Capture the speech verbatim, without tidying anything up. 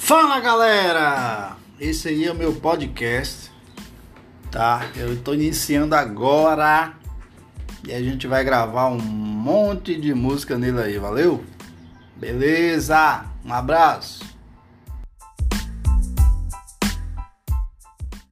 Fala galera, esse aí é o meu podcast, tá? Eu tô iniciando agora e a gente vai gravar um monte de música nele aí, valeu? Beleza, um abraço.